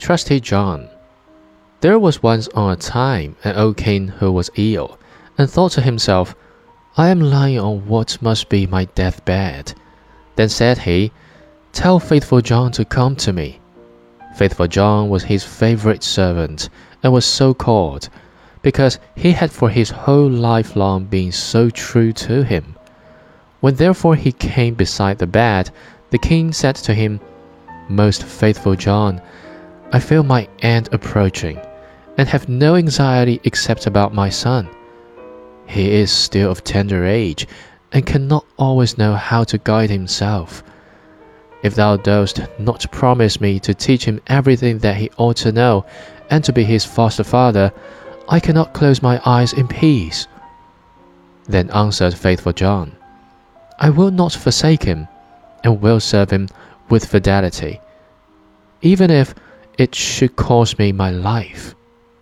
Trusty John. There was once on a time an old king who was ill, and thought to himself, I am lying on what must be my deathbed. Then said he, Tell Faithful John to come to me. Faithful John was his favourite servant, and was so called, because he had for his whole life long been so true to him. When therefore he came beside the bed, the king said to him, Most faithful John, I feel my end approaching, and have no anxiety except about my son. He is still of tender age, and cannot always know how to guide himself. If thou dost not promise me to teach him everything that he ought to know, and to be his foster father, I cannot close my eyes in peace. Then answered Faithful John, I will not forsake him, and will serve him with fidelity, even if it should cost me my life.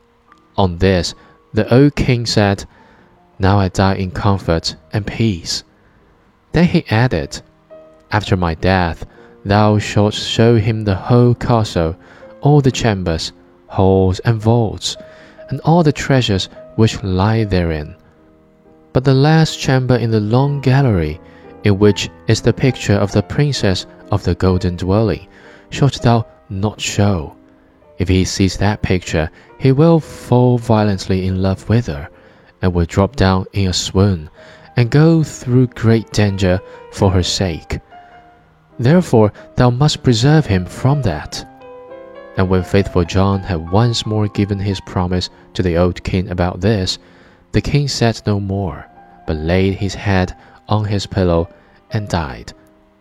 On this, the old king said, Now I die in comfort and peace. Then he added, After my death, thou shalt show him the whole castle, all the chambers, halls, and vaults, and all the treasures which lie therein. But the last chamber in the long gallery, in which is the picture of the princess of the golden dwelling, shalt thou not show. If he sees that picture, he will fall violently in love with her, and will drop down in a swoon, and go through great danger for her sake. Therefore thou must preserve him from that. And when Faithful John had once more given his promise to the old king about this, the king said no more, but laid his head on his pillow and died.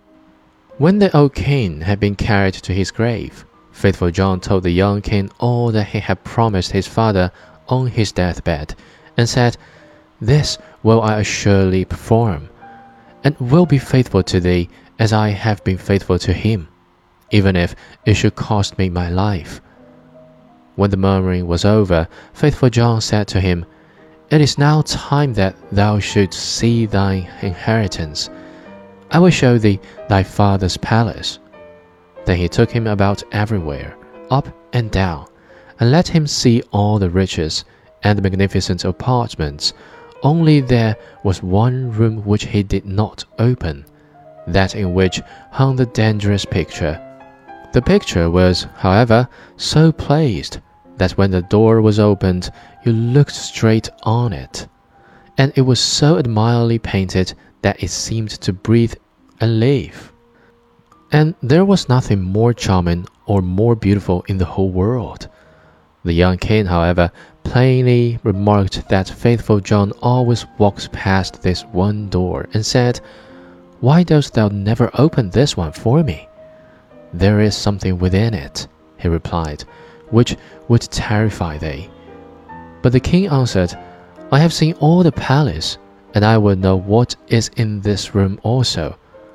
When the old king had been carried to his grave, Faithful John told the young king all that he had promised his father on his deathbed, and said, This will I assuredly perform, and will be faithful to thee as I have been faithful to him, even if it should cost me my life. When the murmuring was over, Faithful John said to him, It is now time that thou shouldst see thine inheritance. I will show thee thy father's palace. Then he took him about everywhere, up and down, and let him see all the riches and the magnificent apartments. Only there was one room which he did not open, that in which hung the dangerous picture. The picture was, however, so placed that when the door was opened, you looked straight on it, and it was so admirably painted that it seemed to breathe and live. And there was nothing more charming or more beautiful in the whole world. The young king, however, plainly remarked that Faithful John always walked past this one door, and said, Why dost thou never open this one for me? There is something within it, he replied, which would terrify thee. But the king answered, I have seen all the palace, and I will know what is in this room also.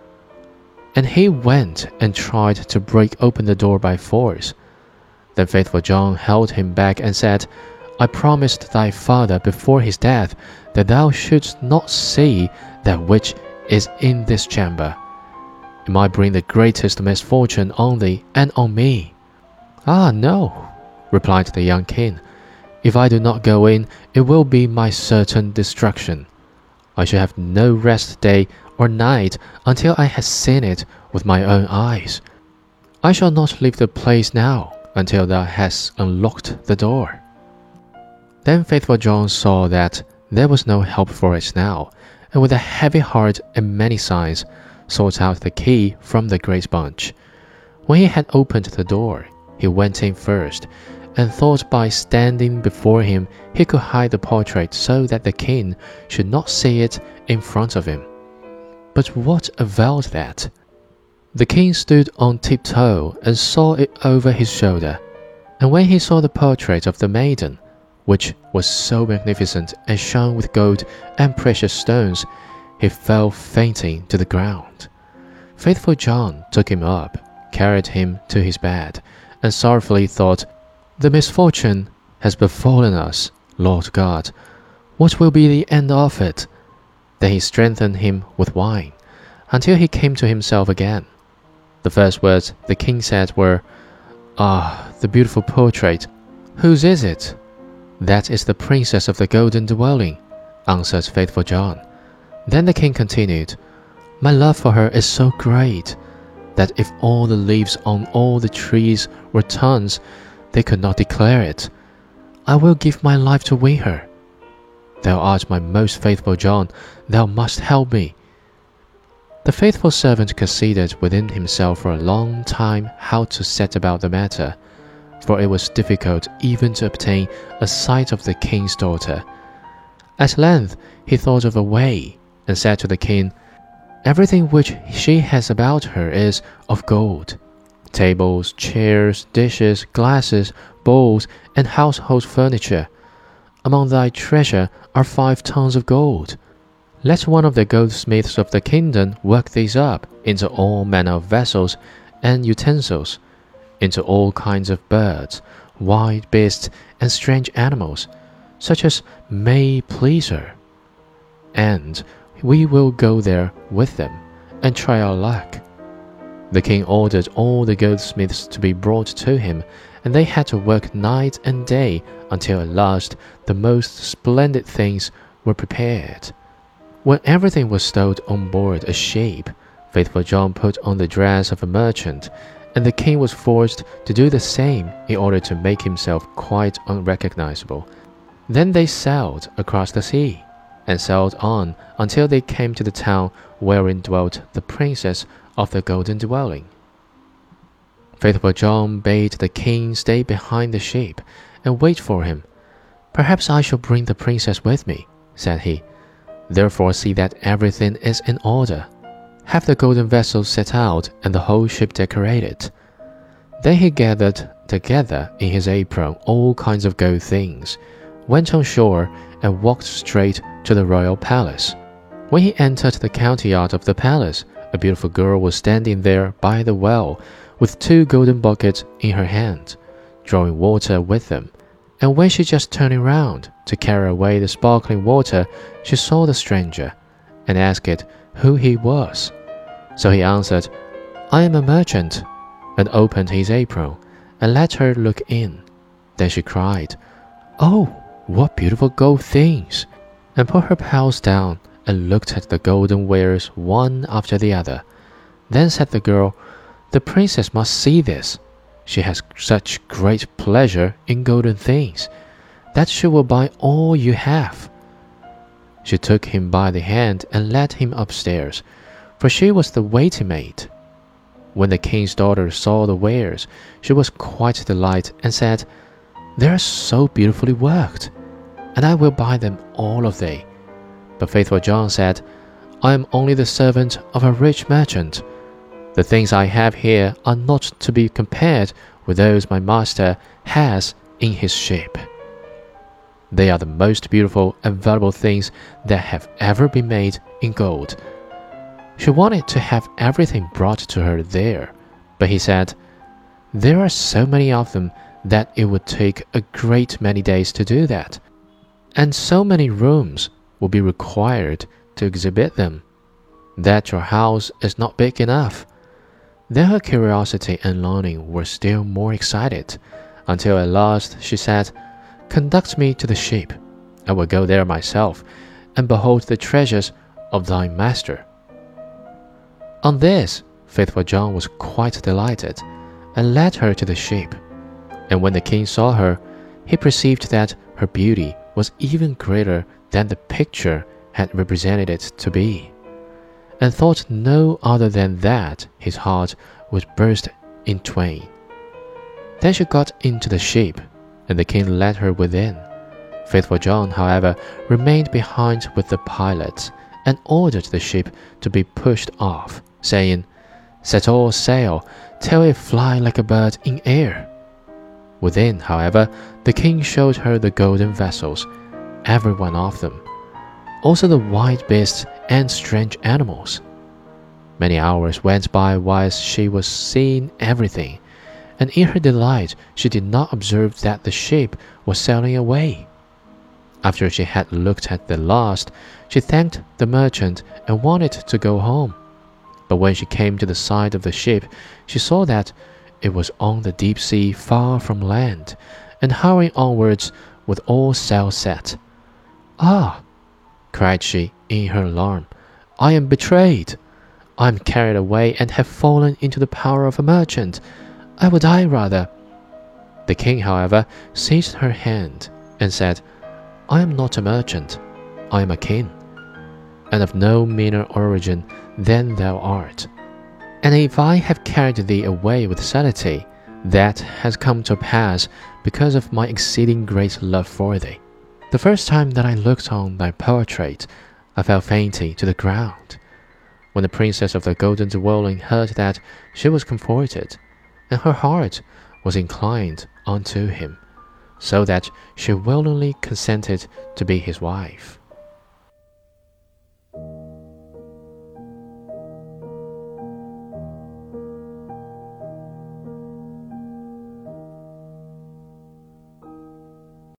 And he went and tried to break open the door by force. Then Faithful John held him back and said, I promised thy father before his death that thou shouldst not see that which is in this chamber. It might bring the greatest misfortune on thee and on me. Ah, no, replied the young king. If I do not go in, it will be my certain destruction. I shall have no rest day or night until I have seen it with my own eyes. I shall not leave the place now until thou hast unlocked the door. Then Faithful John saw that there was no help for it now, and with a heavy heart and many sighs, sought out the key from the great bunch. When he had opened the door, he went in first, and thought by standing before him he could hide the portrait so that the king should not see it in front of him. But what availed that? The king stood on tiptoe and saw it over his shoulder, and when he saw the portrait of the maiden, which was so magnificent and shone with gold and precious stones, he fell fainting to the ground. Faithful John took him up, carried him to his bed, and sorrowfully thought, The misfortune has befallen us, Lord God. What will be the end of it? Then he strengthened him with wine, until he came to himself again. The first words the king said were, Ah, the beautiful portrait. Whose is it? That is the princess of the golden dwelling, answered faithful John. Then the king continued, My love for her is so great that if all the leaves on all the trees were tongues, they could not declare it. I will give my life to win her. Thou art my most faithful John, thou must help me. The faithful servant considered within himself for a long time how to set about the matter, for it was difficult even to obtain a sight of the king's daughter. At length he thought of a way, and said to the king, Everything which she has about her is of gold. Tables, chairs, dishes, glasses, bowls, and household furniture. Among thy treasure are 5 tons of gold. Let one of the goldsmiths of the kingdom work these up into all manner of vessels and utensils, into all kinds of birds, wild beasts, and strange animals, such as may please her. And we will go there with them, and try our luck. The king ordered all the goldsmiths to be brought to him, and they had to work night and day until at last the most splendid things were prepared. When everything was stowed on board a ship, faithful John put on the dress of a merchant, and the king was forced to do the same in order to make himself quite unrecognizable. Then they sailed across the sea, and sailed on until they came to the town wherein dwelt the princess of the golden dwelling. Faithful John bade the king stay behind the ship and wait for him. Perhaps I shall bring the princess with me, said he. Therefore see that everything is in order. Have the golden vessels set out and the whole ship decorated. Then he gathered together in his apron all kinds of gold things, went on shore, and walked straight to the royal palace. When he entered the courtyard of the palace, a beautiful girl was standing there by the well, with 2 golden buckets in her hand, drawing water with them. And when she just turned round to carry away the sparkling water, she saw the stranger, and asked who he was. So he answered, I am a merchant, and opened his apron, and let her look in. Then she cried, Oh, what beautiful gold things! And put her pearls down, and looked at the golden wares one after the other. Then said the girl, The princess must see this. She has such great pleasure in golden things, that she will buy all you have. She took him by the hand and led him upstairs, for she was the waiting maid. When the king's daughter saw the wares, she was quite delighted and said, They are so beautifully worked, and I will buy them all of thee. But faithful John said, I am only the servant of a rich merchant. The things I have here are not to be compared with those my master has in his ship. They are the most beautiful and valuable things that have ever been made in gold. She wanted to have everything brought to her there, but he said, There are so many of them that it would take a great many days to do that, and so many rooms will be required to exhibit them, that your house is not big enough. Then her curiosity and longing were still more excited, until at last she said, Conduct me to the ship. I will go there myself, and behold the treasures of thy master. On this, faithful John was quite delighted, and led her to the ship. And when the king saw her, he perceived that her beauty was even greater than the picture had represented it to be, and thought no other than that his heart would burst in twain. Then she got into the ship, and the king led her within. Faithful John, however, remained behind with the pilots, and ordered the ship to be pushed off, saying, Set all sail, till it fly like a bird in air. Within, however, the king showed her the golden vessels, every one of them, also the wild beasts and strange animals. Many hours went by whilst she was seeing everything, and in her delight she did not observe that the ship was sailing away. After she had looked at the last, she thanked the merchant and wanted to go home. But when she came to the side of the ship, she saw that it was on the deep sea far from land, and hurrying onwards with all sail set. "Ah!" cried she in her alarm, "I am betrayed! I am carried away and have fallen into the power of a merchant. I will die rather." The king, however, seized her hand and said, "I am not a merchant, I am a king, and of no meaner origin than thou art. And if I have carried thee away with subtlety, that has come to pass because of my exceeding great love for thee. The first time that I looked on thy portrait, I fell fainting to the ground. When the princess of the golden dwelling heard that, she was comforted, and her heart was inclined unto him, so that she willingly consented to be his wife."